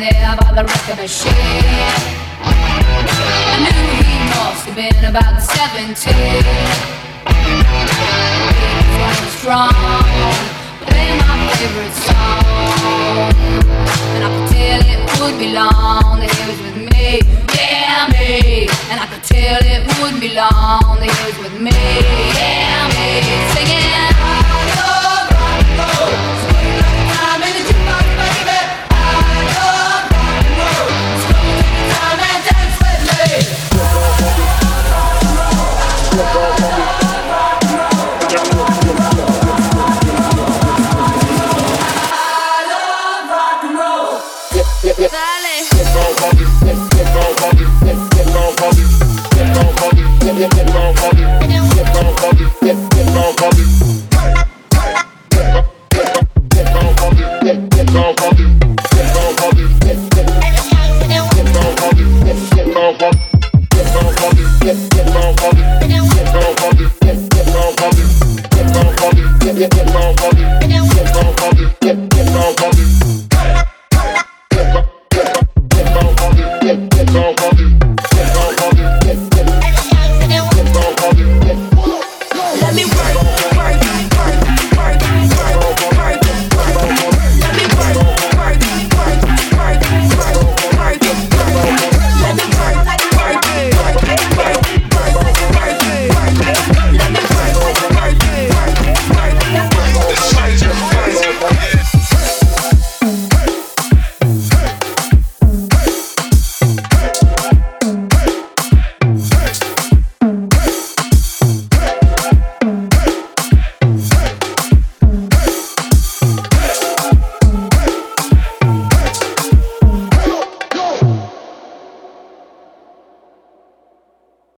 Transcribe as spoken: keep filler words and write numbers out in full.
there by the record machine. I knew he must have been about seventeen. He was strong, playing my favorite song, and I could tell it would be long that he was with me, yeah me. And I could tell it wouldn't be long that he was with me, yeah me. Singing I love rock and roll, swing like time in the jukebox, baby. I love rock and roll, so take your time and dance with me. I love rock and roll. Dale.